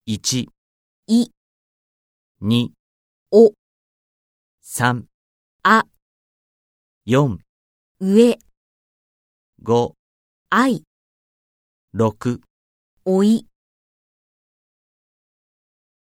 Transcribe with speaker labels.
Speaker 1: 1、
Speaker 2: い、
Speaker 1: 2、
Speaker 2: お、
Speaker 1: 3、
Speaker 2: あ、
Speaker 1: 4、
Speaker 2: 上、
Speaker 1: 5、
Speaker 2: あい、
Speaker 1: 6、
Speaker 2: おい。